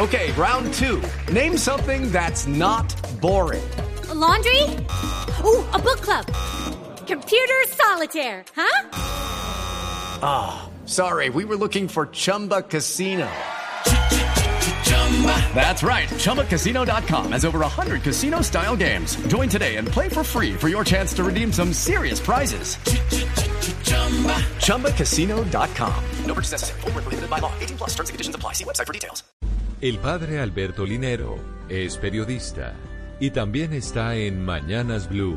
Okay, round two. Name something that's not boring. A laundry? Ooh, a book club. Computer solitaire, huh? Ah, sorry, we were looking for Chumba Casino. That's right, ChumbaCasino.com has over 100 casino-style games. Join today and play for free for your chance to redeem some serious prizes. ChumbaCasino.com. No purchase necessary. Void where prohibited by law. 18+ terms and conditions apply. See website for details. El padre Alberto Linero es periodista y también está en Mañanas Blue.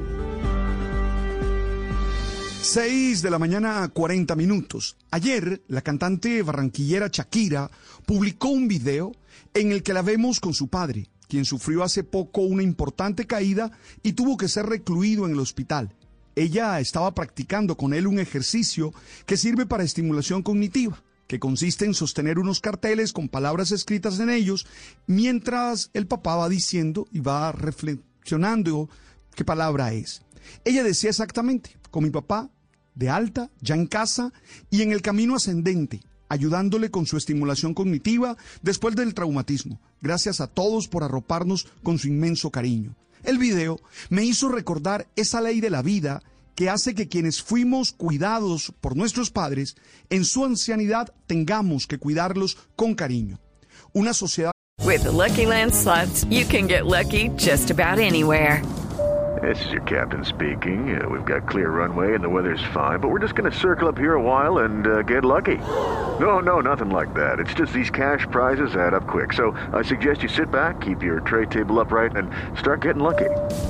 6 de la mañana, 40 minutos. Ayer, la cantante barranquillera Shakira publicó un video en el que la vemos con su padre, quien sufrió hace poco una importante caída y tuvo que ser recluido en el hospital. Ella estaba practicando con él un ejercicio que sirve para estimulación cognitiva, que consiste en sostener unos carteles con palabras escritas en ellos, mientras el papá va diciendo y va reflexionando qué palabra es. Ella decía exactamente, con mi papá, de alta, ya en casa y en el camino ascendente, ayudándole con su estimulación cognitiva después del traumatismo. Gracias a todos por arroparnos con su inmenso cariño. El video me hizo recordar esa ley de la vida que hace que quienes fuimos cuidados por nuestros padres, en su ancianidad tengamos que cuidarlos con cariño. Una sociedad... With the Lucky Land Slots, you can get lucky just about anywhere. This is your captain speaking. We've got clear runway and the weather's fine, but we're just going to circle up here a while and get lucky. No, nothing like that. It's just these cash prizes add up quick. So I suggest you sit back, keep your tray table upright, and start getting lucky.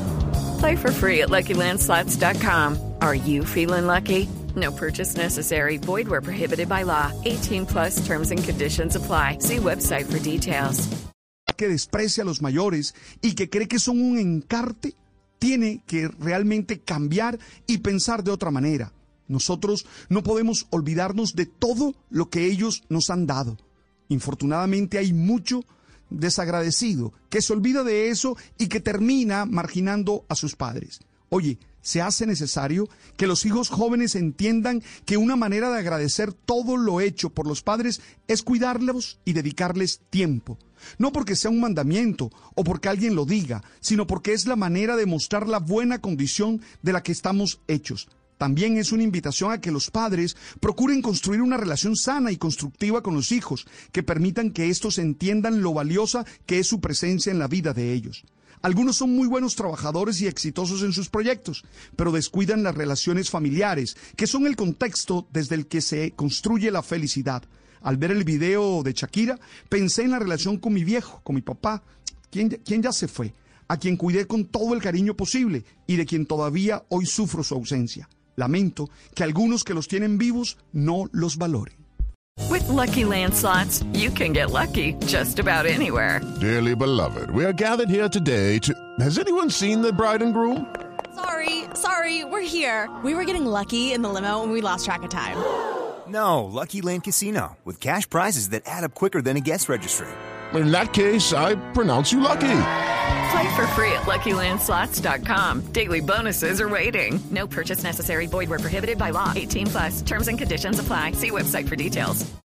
Play for free at LuckyLandSlots.com. Are you feeling lucky? No purchase necessary. Void where prohibited by law. 18+ terms and conditions apply. See website for details. Que desprecia a los mayores y que cree que son un encarte, tiene que realmente cambiar y pensar de otra manera. Nosotros no podemos olvidarnos de todo lo que ellos nos han dado. Infortunadamente hay mucho desagradecido que se olvida de eso y que termina marginando a sus padres. Oye, se hace necesario que los hijos jóvenes entiendan que una manera de agradecer todo lo hecho por los padres es cuidarlos y dedicarles tiempo. No porque sea un mandamiento o porque alguien lo diga, sino porque es la manera de mostrar la buena condición de la que estamos hechos. También es una invitación a que los padres procuren construir una relación sana y constructiva con los hijos, que permitan que estos entiendan lo valiosa que es su presencia en la vida de ellos. Algunos son muy buenos trabajadores y exitosos en sus proyectos, pero descuidan las relaciones familiares, que son el contexto desde el que se construye la felicidad. Al ver el video de Shakira, pensé en la relación con mi viejo, con mi papá, quien ya se fue, a quien cuidé con todo el cariño posible y de quien todavía hoy sufro su ausencia. Lamento que algunos que los tienen vivos no los valoren. With Lucky Land Slots, you can get lucky just about anywhere. Dearly beloved, we are gathered here today to... Has anyone seen the bride and groom? Sorry, we're here. We were getting lucky in the limo and we lost track of time. No, Lucky Land Casino, with cash prizes that add up quicker than a guest registry. In that case, I pronounce you lucky. Play for free at LuckyLandSlots.com. Daily bonuses are waiting. No purchase necessary. Void where prohibited by law. 18+. Terms and conditions apply. See website for details.